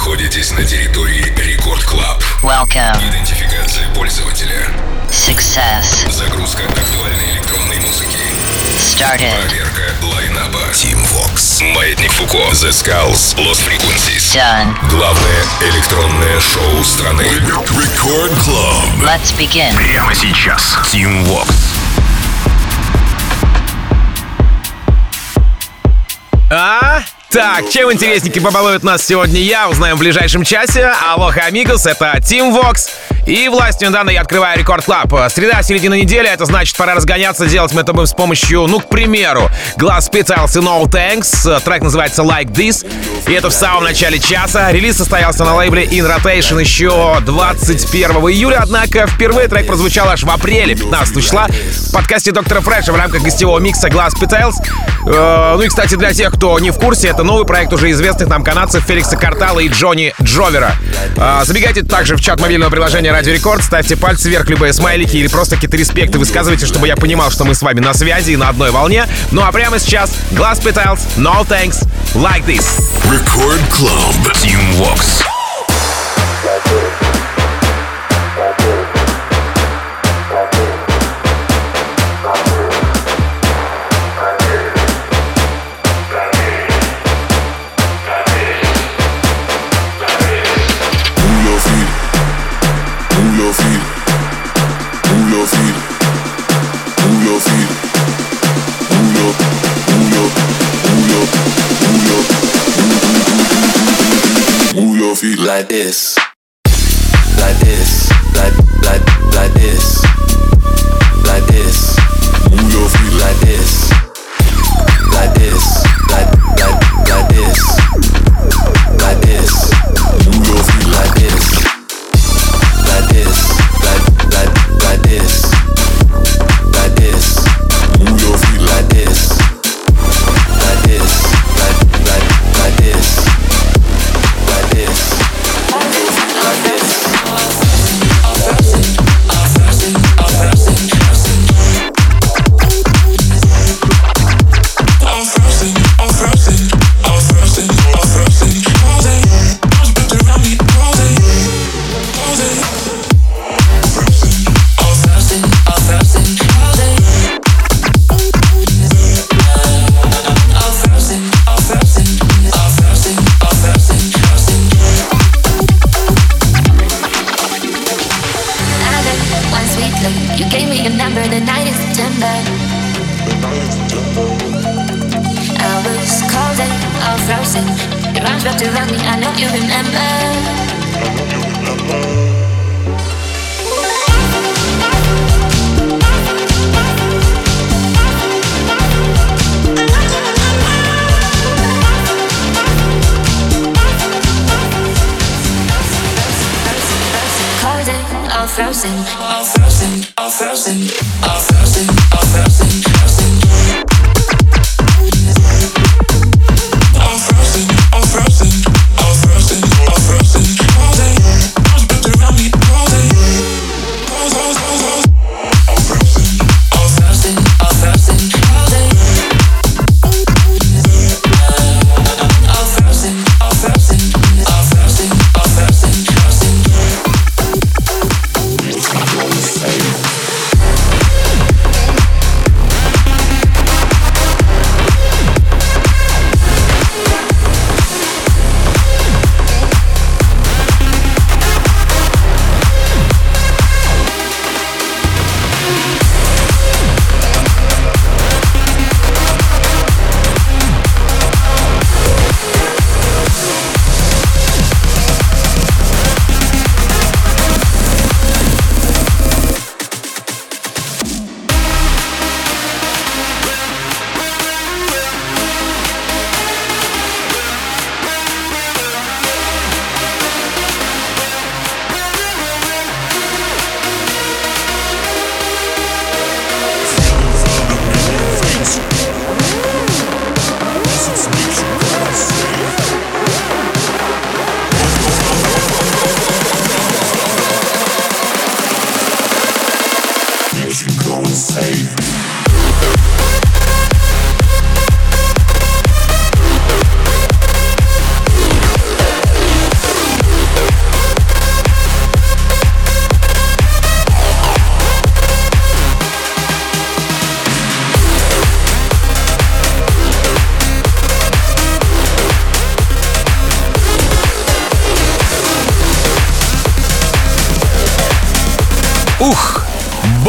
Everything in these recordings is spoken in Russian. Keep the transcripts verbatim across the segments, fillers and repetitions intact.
находитесь на территории Рекорд Клаб. Welcome. Идентификация пользователя. Success. Загрузка актуальной электронной музыки. Started. Проверка лайнаба. Team Vox. Маятник Фуко. The Skulls. Lost Frequencies. Done. Главное электронное шоу страны. Рекорд Club. Let's begin. Прямо сейчас. Team Vox. А? Так, чем интересненький побалует нас сегодня я, узнаем в ближайшем часе. Алоха, амигос, это Team Vox. И властью данной я открываю Рекорд Клаб. Среда, середина недели, это значит, пора разгоняться. Делать мы это будем с помощью, ну, к примеру, Glass Pizzles и No Thanks. Трек называется Like This. И это в самом начале часа. Релиз состоялся на лейбле In Rotation еще двадцать первого июля. Однако впервые трек прозвучал аж в апреле, пятнадцатого числа, в подкасте Доктора Фреша в рамках гостевого микса Glass Pizzles. Э, ну и, кстати, для тех, кто не в курсе, это новый проект уже известных нам канадцев Феликса Картала и Джонни Джовера. Э, забегайте также в чат мобильного приложения Радио Рекорд, ставьте пальцы вверх, любые смайлики или просто какие-то респекты высказывайте, чтобы я понимал, что мы с вами на связи и на одной волне. Ну а прямо сейчас Glass Pizzles, No Thanks, Like This. Record Club. Team Vox. Like this, like this, like like like this, like this. Move your feet like this, like this, like like like this, like this. Move your feet like this, like this, like like like this, like this. Move your feet like this, like this, like like like this, like this.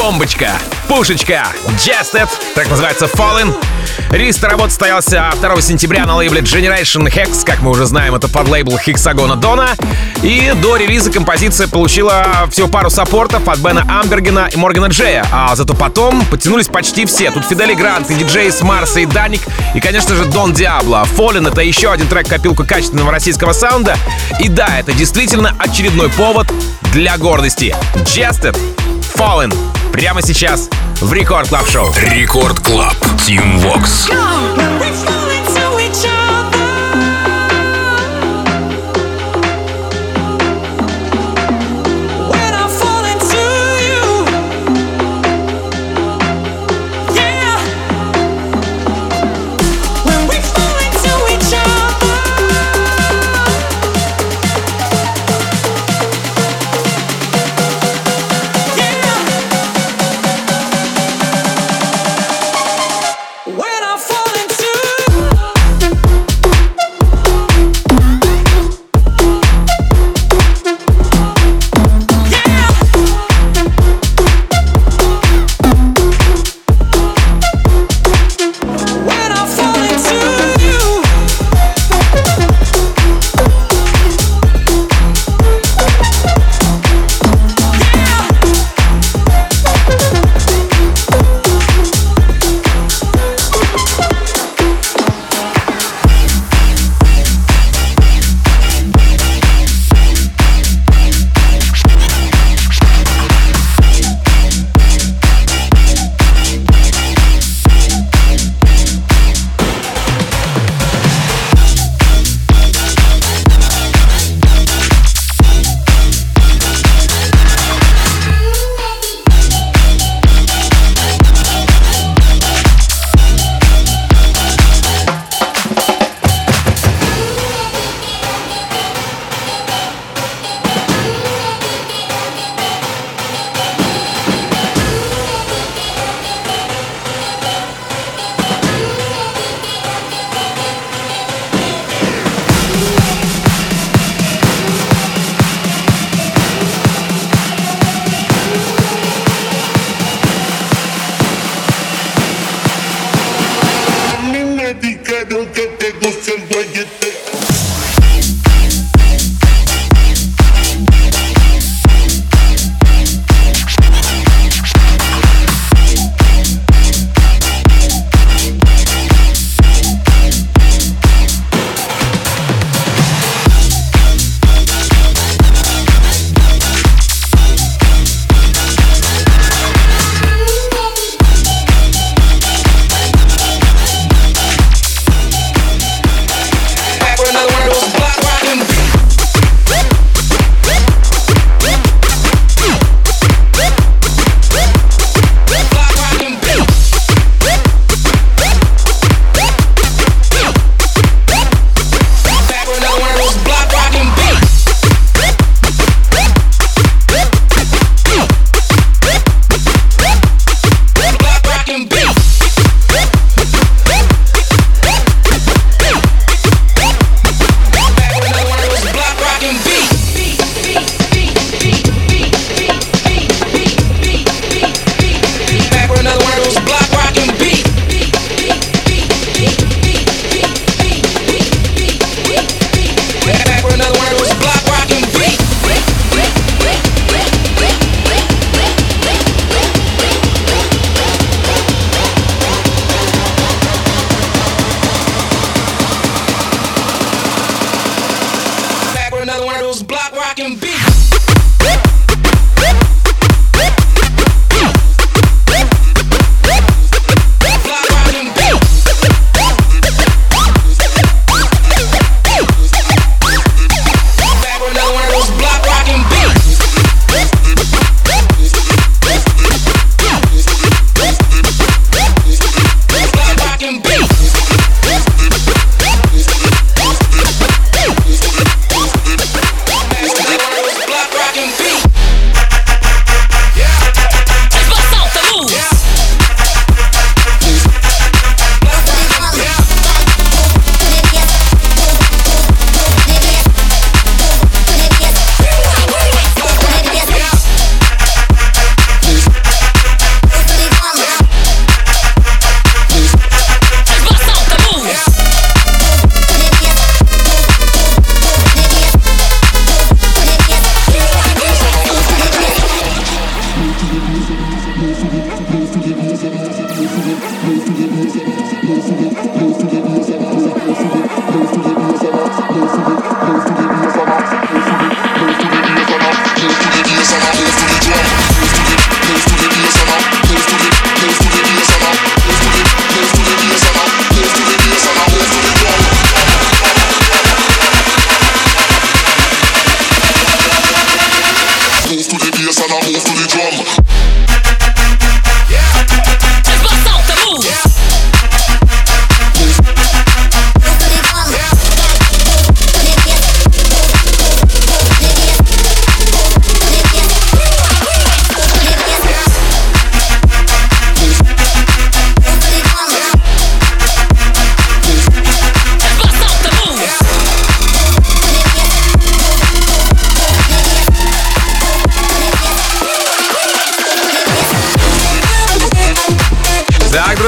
бомбочка, пушечка, Jested, так называется Fallen. Релиз работы состоялся второго сентября на лейбле Generation Hex, как мы уже знаем, это подлейбл Hexagona Dona. И до релиза композиция получила всего пару саппортов от Бена Амбергена и Моргана Джея, а зато потом подтянулись почти все. Тут Фидели Грант, и диджей с Марса, и Даник, и, конечно же, Дон Диабло. Fallen — это еще один трек копилку качественного российского саунда. И да, это действительно очередной повод для гордости. Jested, Fallen. Прямо сейчас в Рекорд Клаб Шоу. Рекорд Клаб. Team Vox.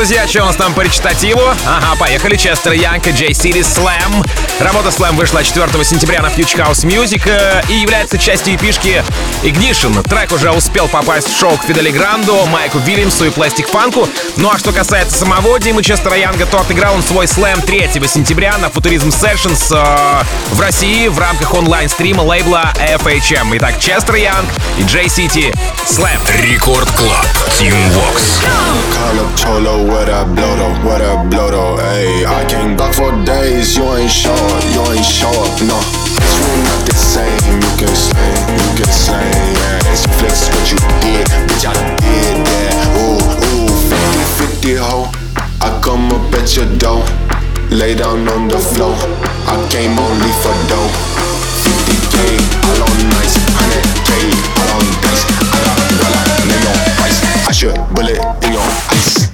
друзья, что у нас там по речитативу? Ага, поехали. Честер Янг и Джей City Slam. Работа Slam вышла четвёртого сентября на Future House Music и является частью эпишки Ignition. Трек уже успел попасть в шоу к Фидели Гранду, Майку Вильямсу и Пластик Фанку. Ну а что касается самого Димы Честера Янга, то отыграл он свой слэм третьего сентября на Futurism Sessions э, в России в рамках онлайн-стрима лейбла эф эйч эм. Итак, Честер Янг и Джей City Slam. Рекорд Клаб. Team Vox. Call up Cholo, what I blow though, what I blow though, ayy. I can't block for days, you ain't show up, you ain't show up, no. It's really not the same, you can slang, you can slang, yeah. It's flex what you did, bitch, I did that. Ooh, ooh, fifty fifty ho, I come up at your door, lay down on the floor, I came only for dough. fifty K, all on nice, one hundred K, all on dice, I got a dollar, name your price, I should bullet in your ice.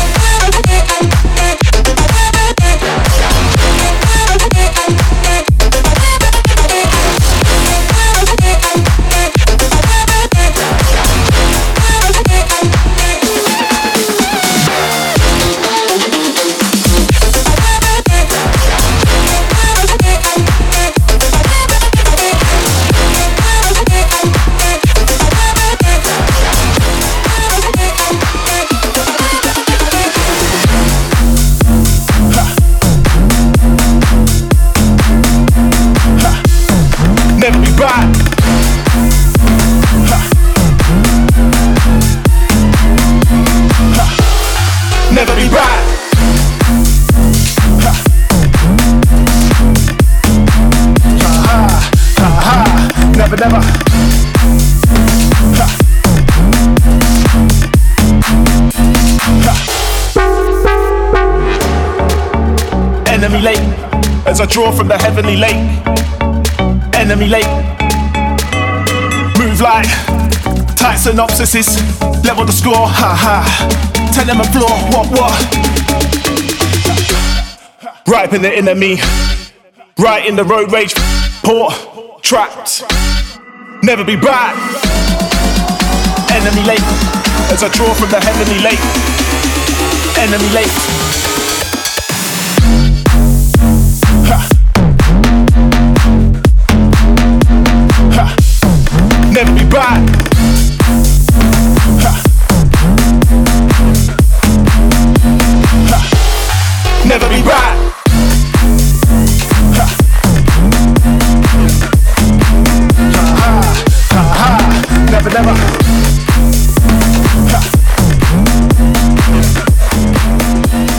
Enemy lake, as I draw from the heavenly lake. Enemy lake, move like tight synopsises. Level the score, ha ha. Tell them a floor, what what? Ripe in the enemy, right in the road rage. Port, trapped, never be back. Enemy lake, as I draw from the heavenly lake. Enemy lake. Never be back. Ha. Ha. Never be back. Ha. Ha. Ha. Ha. Never, never. Ha.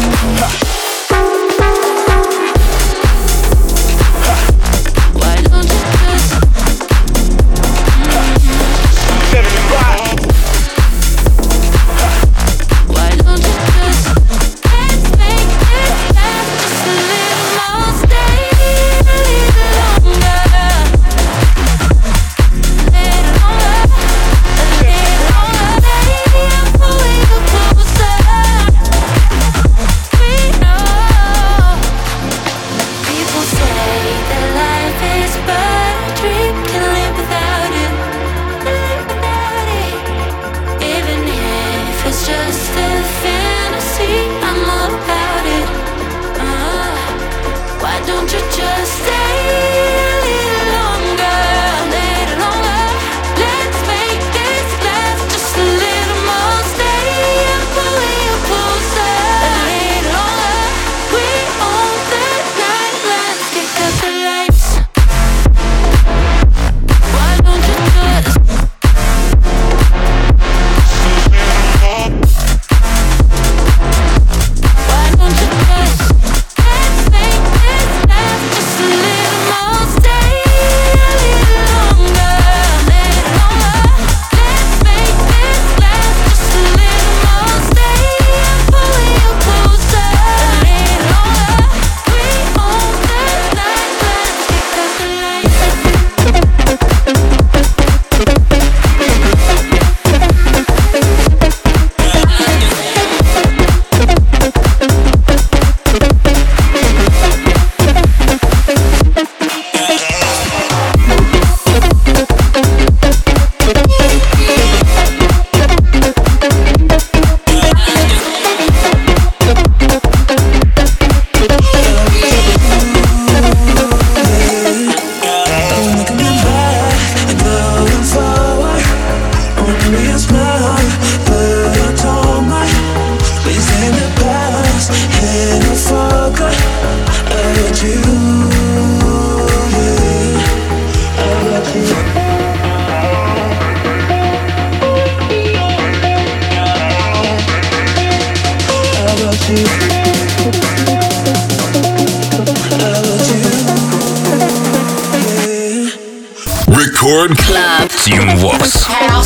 Record Club. Team Vox.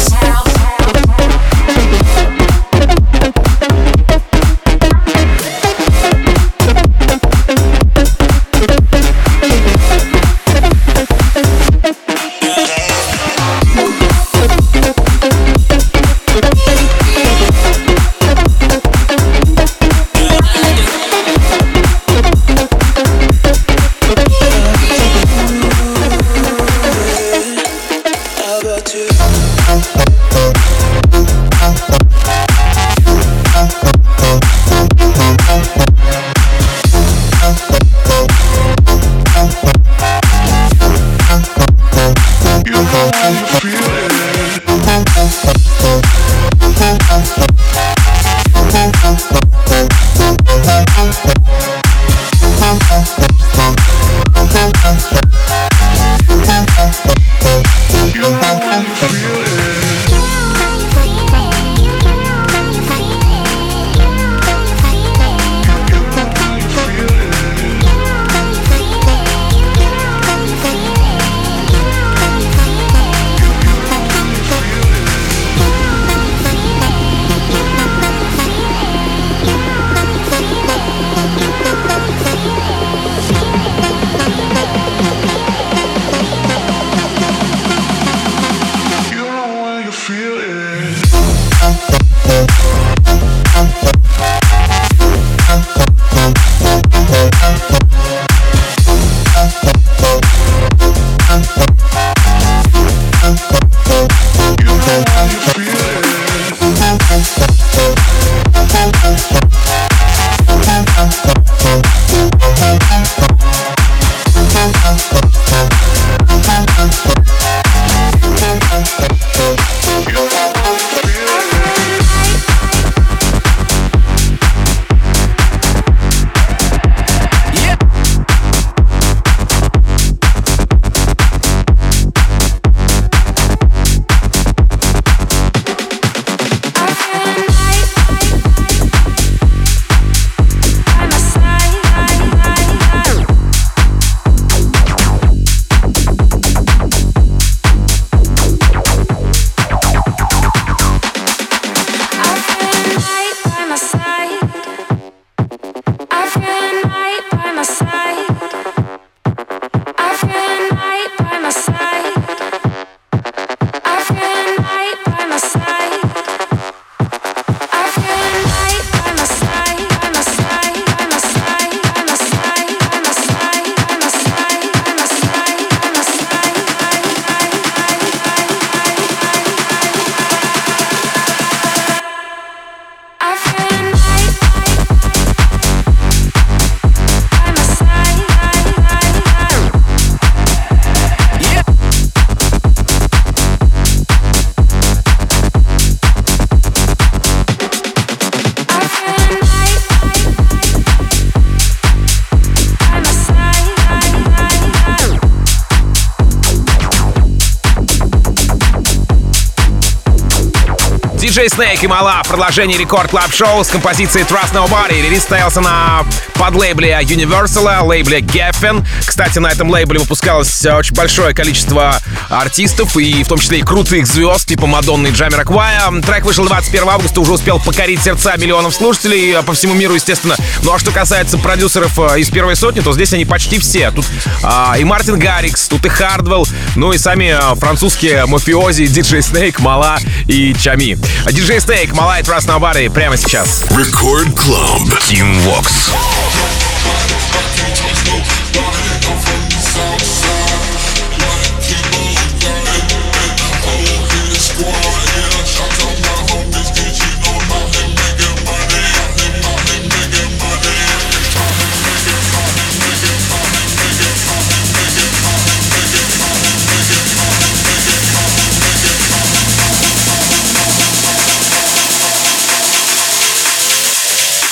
диджей Snake и Mala в продолжении Рекорд Клаб Шоу с композицией Trust Nobody. Релиз состоялся на подлейбле Universal, лейбле Geffen. Кстати, на этом лейбле выпускалось очень большое количество артистов, и в том числе и крутых звезд, типа Мадонны и Джамироквая. Трек вышел двадцать первого августа, уже успел покорить сердца миллионов слушателей по всему миру, естественно. Ну а что касается продюсеров из первой сотни, то здесь они почти все. Тут а, и Мартин Гаррикс, тут и Хардвелл, ну и сами а, французские мафиози, диджей Snake, Mala и Чами. диджей Snake, Mala и Trust Nobody прямо сейчас. Record Club. Team Vox.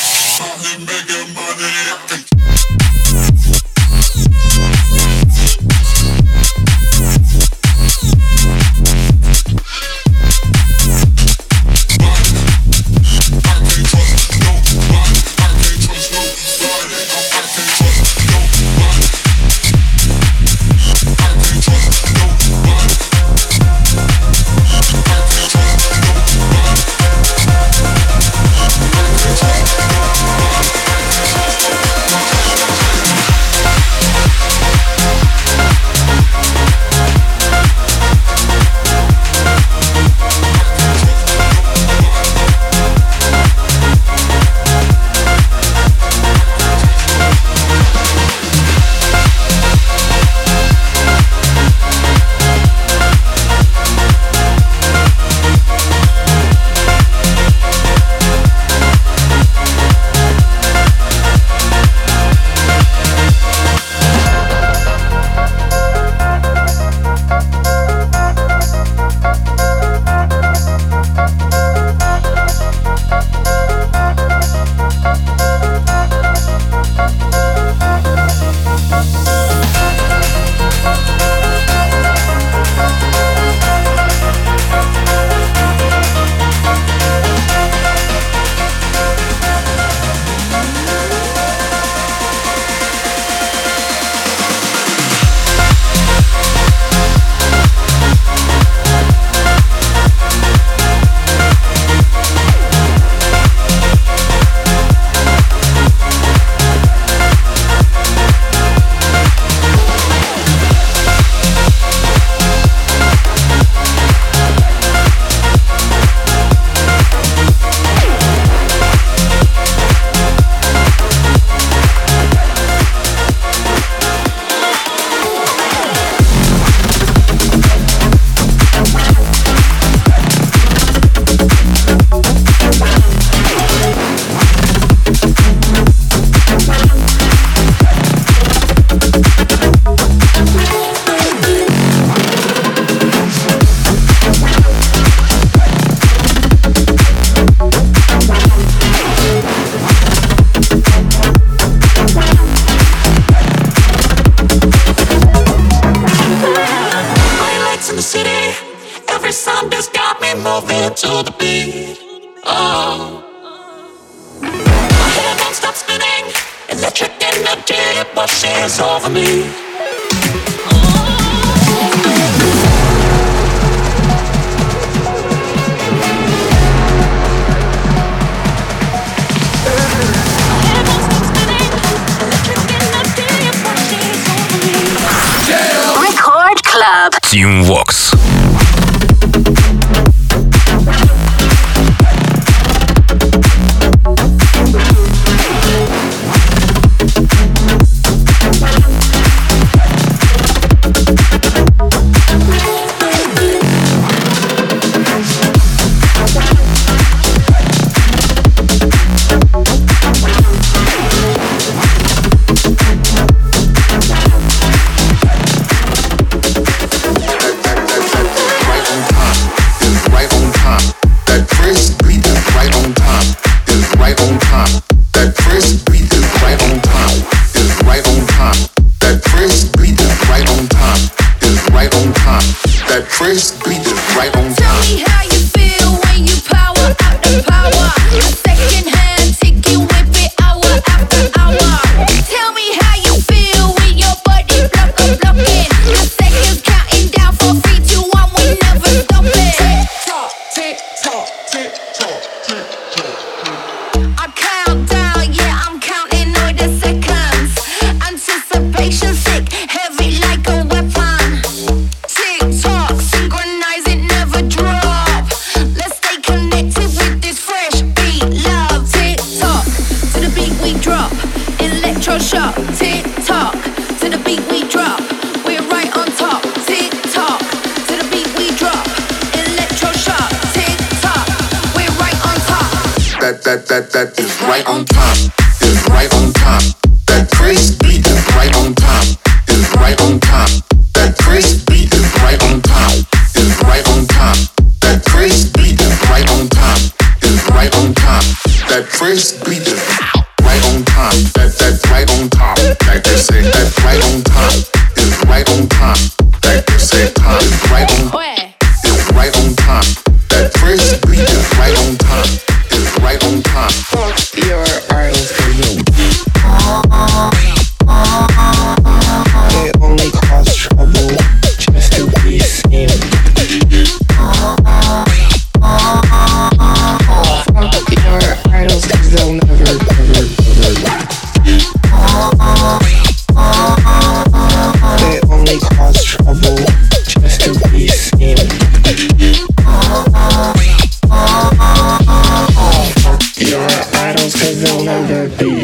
Making money. sun just got me moving to the beat. Oh, my head won't stop spinning. Electric energy washes over me. Record Club. Team Vox. That, that, that is right on time, is right on time. That crazy beat is right on time, is right on time. That crazy beat is right on time, is right on time. That crazy beat is right on time, is right on time. That crazy beat is right on time, that, that's right on top. Like they say, that's right on time, is right on time. Like they say, time is right on, is right on time. That crazy beat is right on time. Right on time. Fuck your idols for you. They only cause trouble just to be seen. Fuck your idols cause they'll never, never, never. They only cause trouble just to be seen. Your idols cause they'll never be.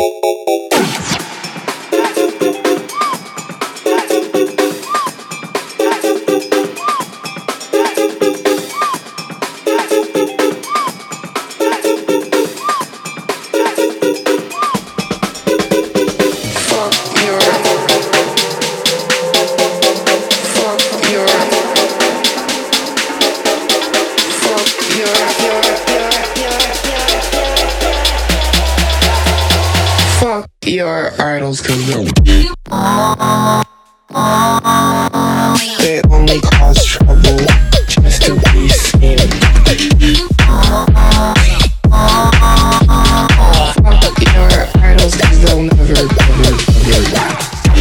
Your idols cause they only cause trouble just to be seen. Fuck your idols cause they'll never, never, never.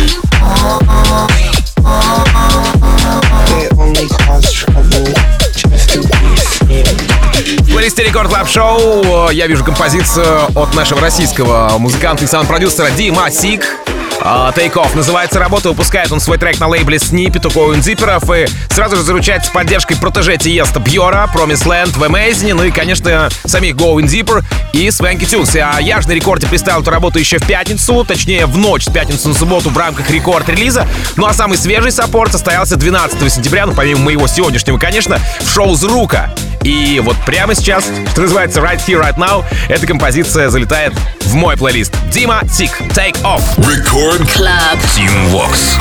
They only cause trouble just to be seen. В плейлисте Рекорд Клаб Шоу я вижу композицию от нашего российского музыканта и саунд-продюсера Дима Сик. Take Off называется работа, выпускает он свой трек на лейбле Snippet у Going Deeper'ов и сразу же заручается поддержкой протеже Тиеста Бьора, Promised Land, в Amazing, ну и, конечно, самих Going Deeper и Swanky Tunes. А я же на рекорде представил эту работу еще в пятницу, точнее в ночь с пятницы на субботу в рамках рекорд-релиза. Ну а самый свежий саппорт состоялся двенадцатого сентября, ну помимо моего сегодняшнего, конечно, в шоу «Зрука». И вот прямо сейчас, что называется Right Here, Right Now, эта композиция залетает в мой плейлист. Дима Сик, Take Off. Record Club Team Vox.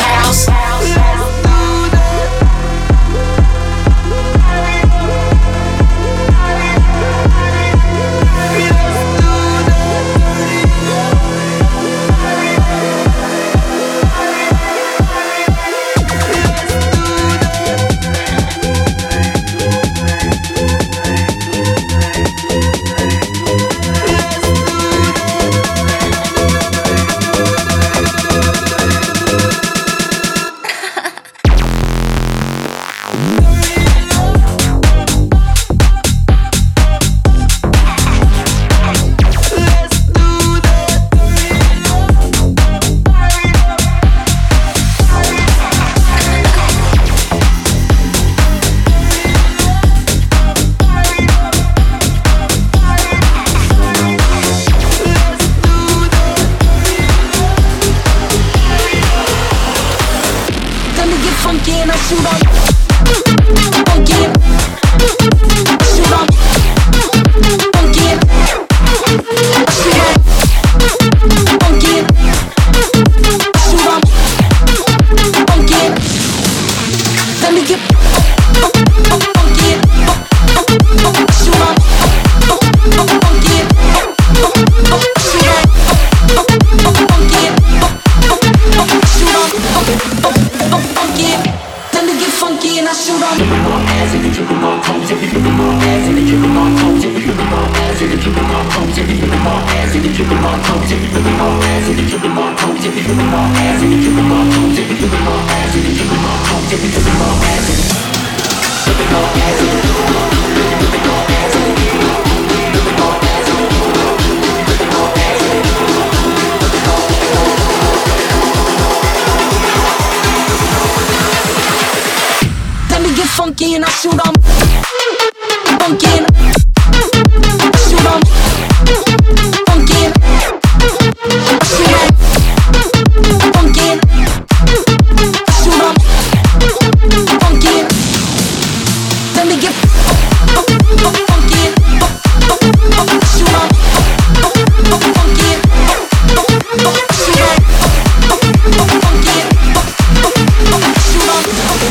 Funky and I shoot 'em. Funky and I shoot 'em. Funky and I shoot 'em. Funky and I shoot 'em. Funky and let me get funky and shoot 'em. Funky and shoot 'em. Funky and shoot 'em.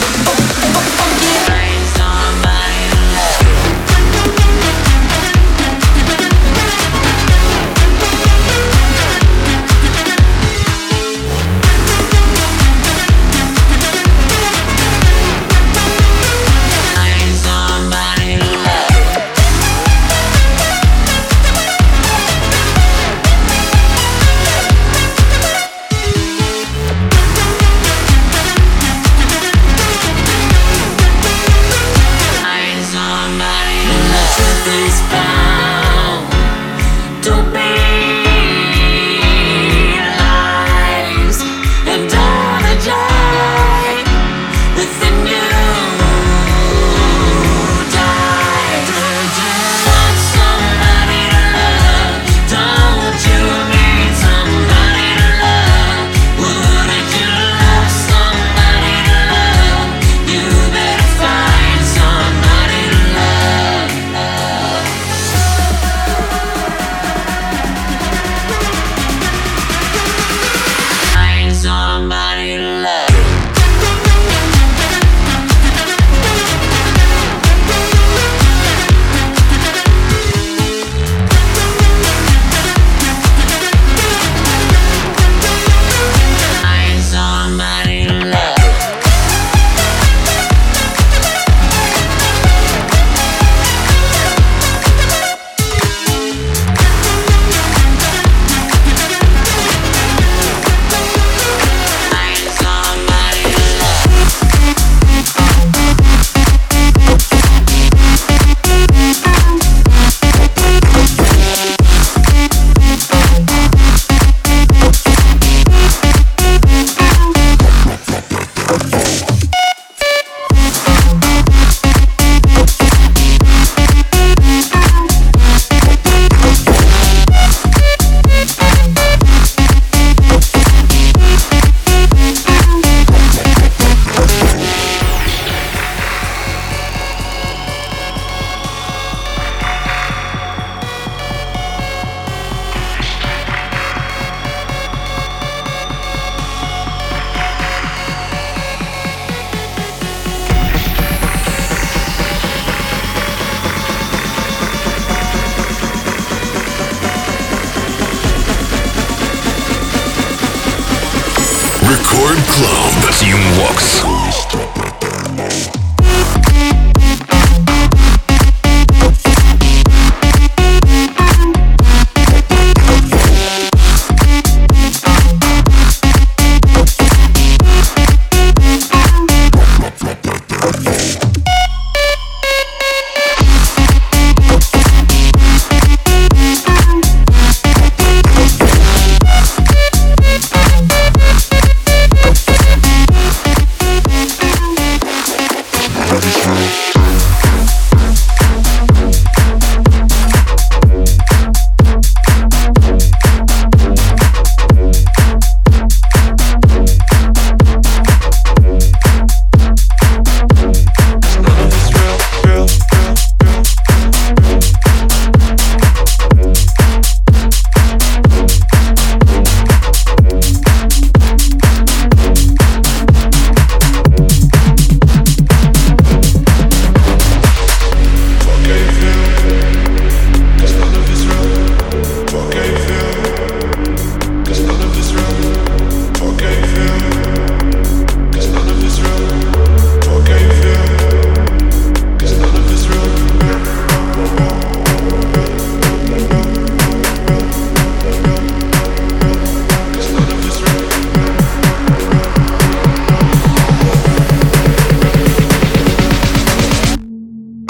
Record Club. Team Vox.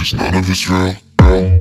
cause none of it's real, real.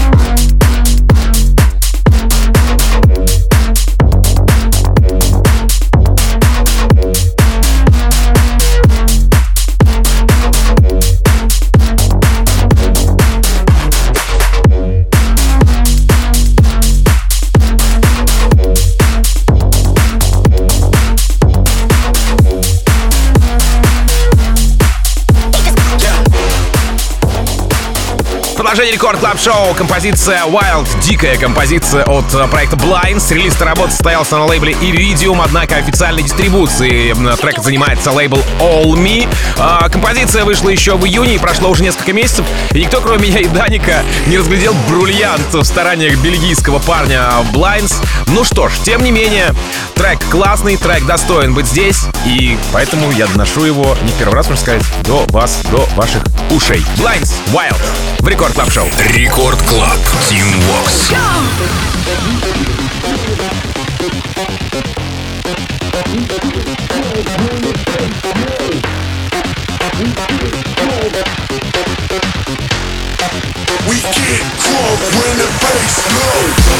Продолжение Рекорд Клаб Шоу. Композиция Wild, дикая композиция от проекта Blinds. Релиз работы состоялся на лейбле Iridium, однако официальной дистрибуцией трека занимается лейбл All Me. А, композиция вышла еще в июне и прошло уже несколько месяцев, и никто, кроме меня и Даника, не разглядел бриллиант в стараниях бельгийского парня Blinds. Ну что ж, тем не менее, трек классный, трек достоин быть здесь, и поэтому я доношу его не в первый раз, можно сказать, до вас, до ваших ушей. Blinds, Wild в Рекорд Клаб Шоу. Рекорд Клаб, Team Vox. We get crunk when the bass low.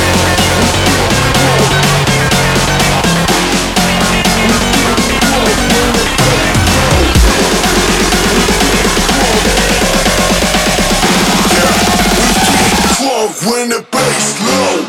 When the bass low.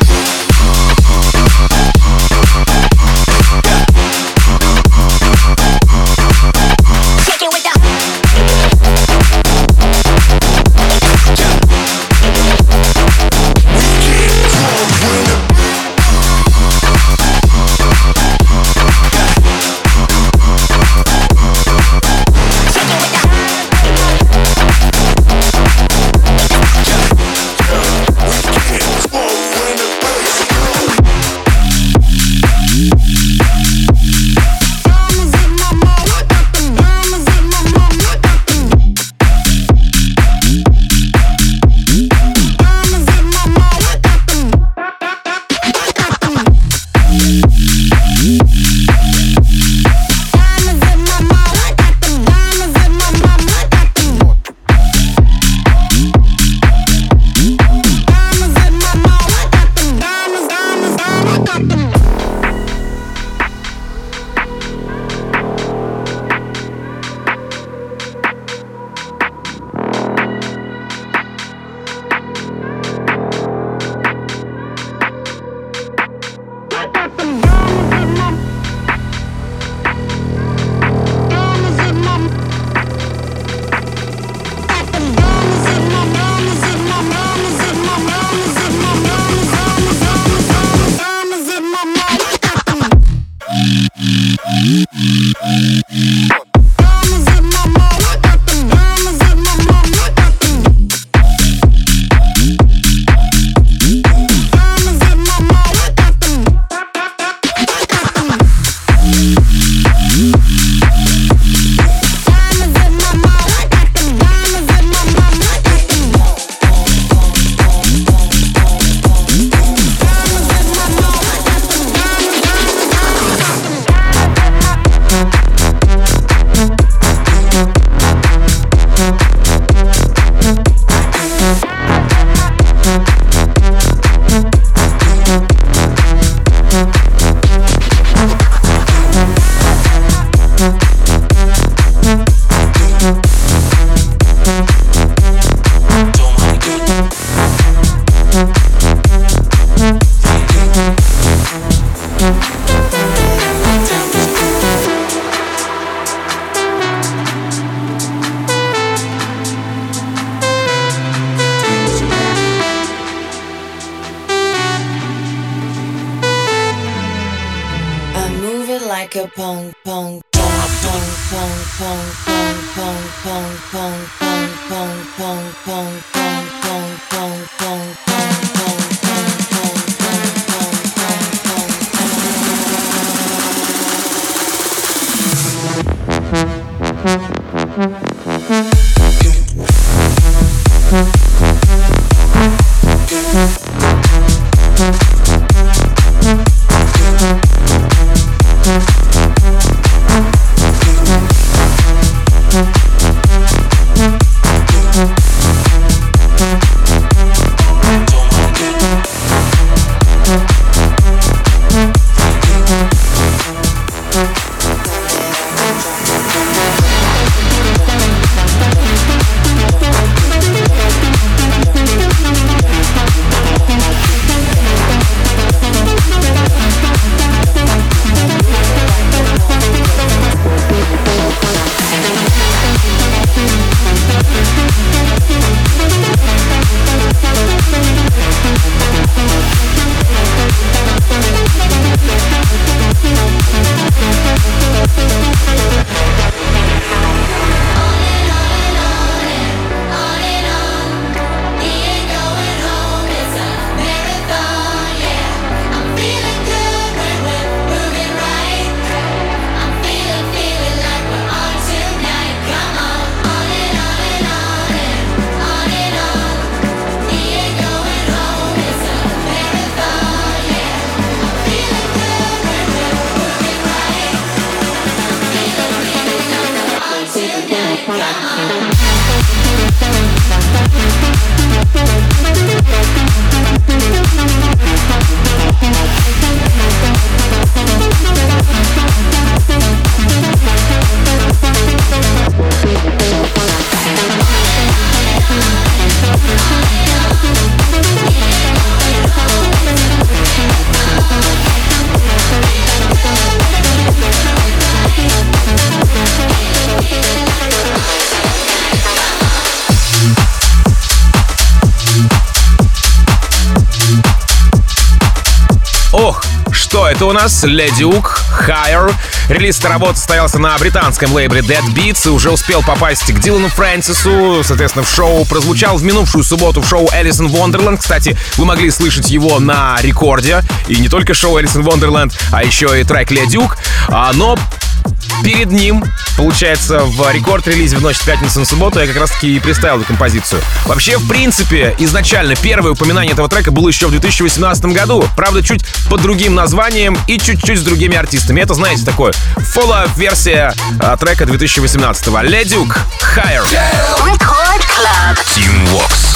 Ох, что это у нас? Ледюк, Higher. Релиз этой работы состоялся на британском лейбле Dead Beats и уже успел попасть к Дилану Фрэнсису, соответственно, в шоу. Прозвучал в минувшую субботу в шоу Alice in Wonderland. Кстати, вы могли слышать его на рекорде. И не только шоу Alice in Wonderland, а еще и трек Ледюк. А, но перед ним, получается, в рекорд-релизе в ночь с пятницы на субботу я как раз-таки и представил эту композицию. Вообще, в принципе, изначально первое упоминание этого трека было еще в две тысячи восемнадцатом году. Правда, чуть под другим названием и чуть-чуть с другими артистами. Это, знаете, такое фоллоу-версия а, трека две тысячи восемнадцатого. Ледюк, Higher. Record Club. Team Vox.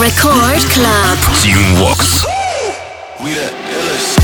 Record Club. Team Vox. We the illest.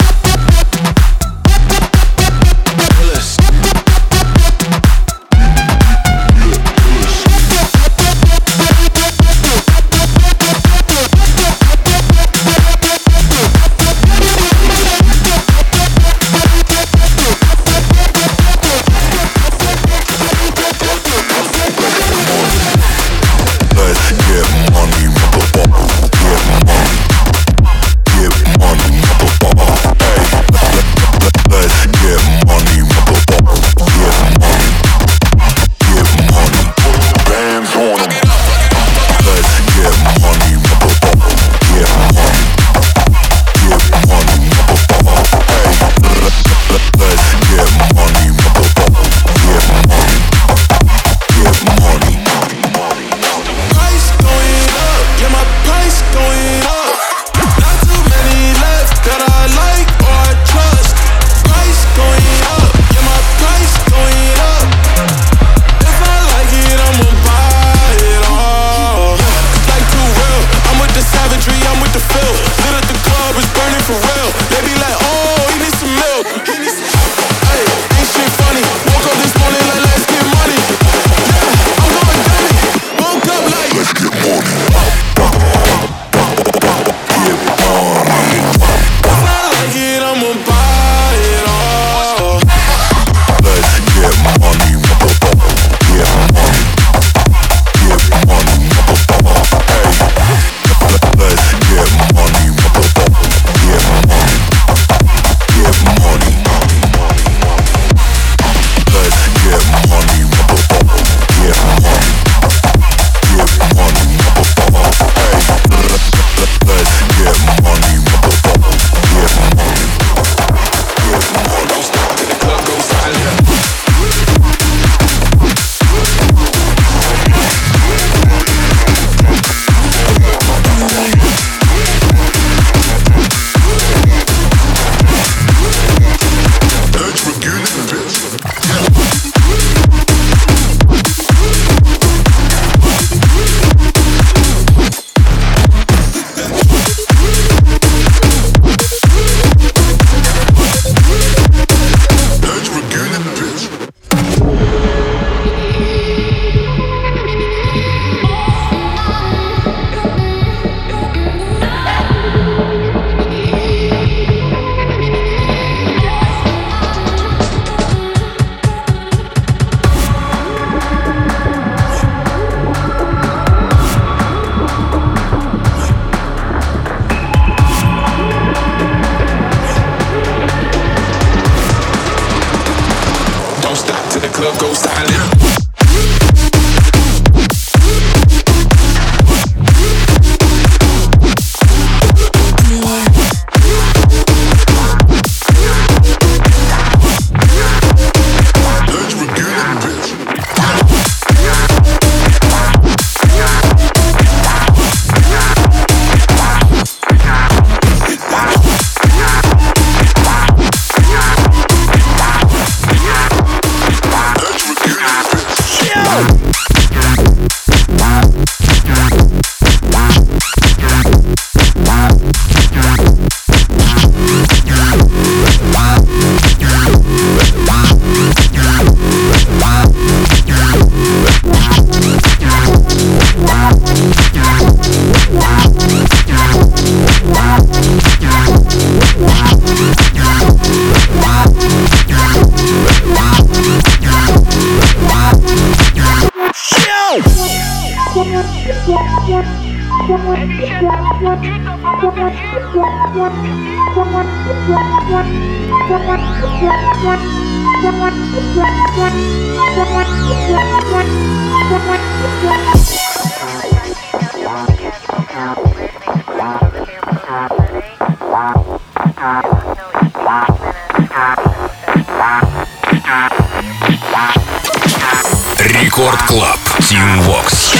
Рекорд Клаб. Team Vox.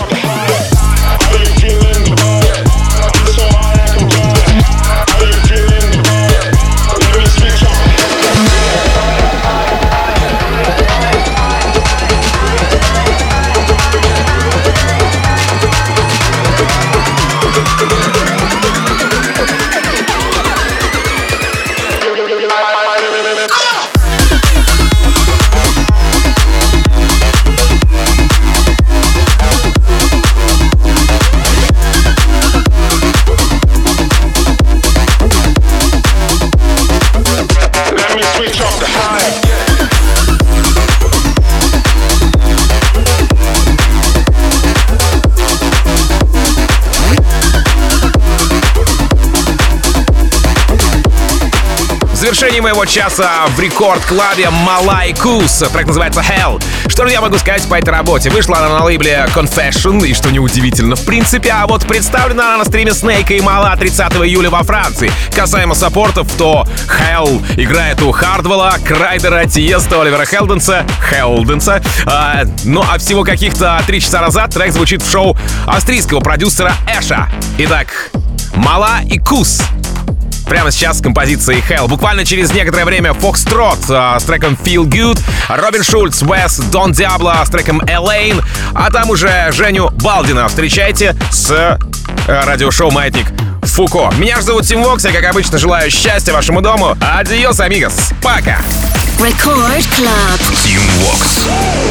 В завершении моего часа в рекорд-клабе Мала и Кус. Трек называется Hell. Что же я могу сказать по этой работе? Вышла она на лейбле Confession, и что неудивительно в принципе, а вот представлена она на стриме Снейка и Мала тридцатого июля во Франции. Касаемо саппортов, то Hell играет у Хардвелла, Крайдера, Тиеста, Оливера Хелденса, Хелденса. А, ну а всего каких-то три часа назад трек звучит в шоу австрийского продюсера Эша. Итак, Мала и Кус. Прямо сейчас с композицией Hell. Буквально через некоторое время Foxtrot а, с треком Feel Good, Робин Шульц, Уэс, Дон Диабло с треком Элейн, а там уже Женю Балдина встречайте с э, радиошоу «Маятник Фуко». Меня же зовут Тим Вокс, я, как обычно, желаю счастья вашему дому. Адиос, амигос. Пока. Record Club. Team Vox.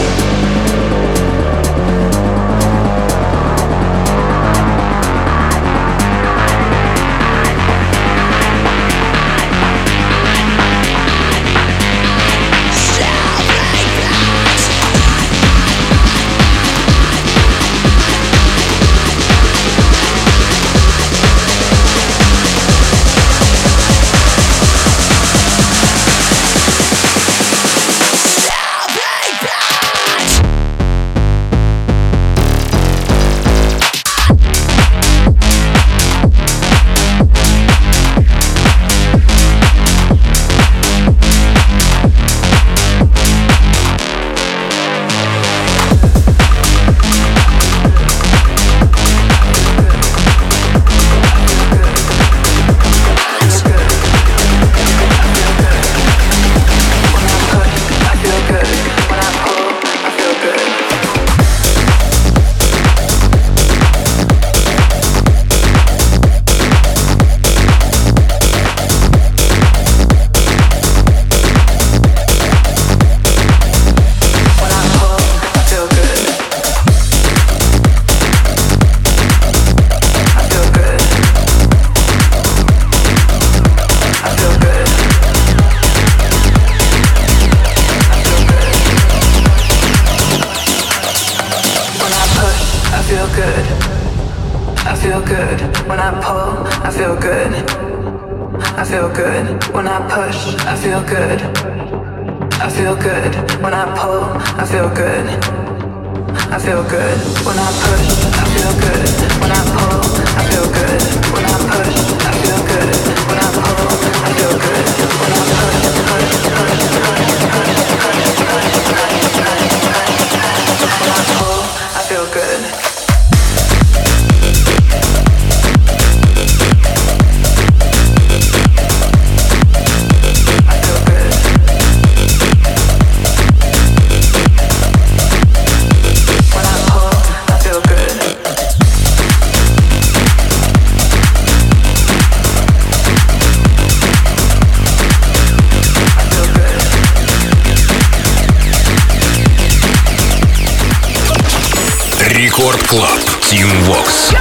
Рекорд Клаб. Team Vox.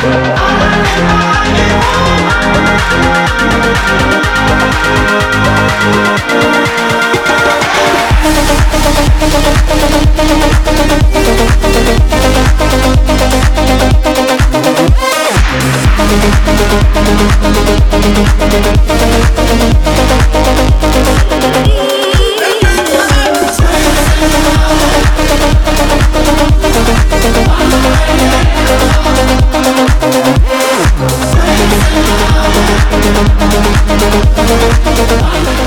Bye.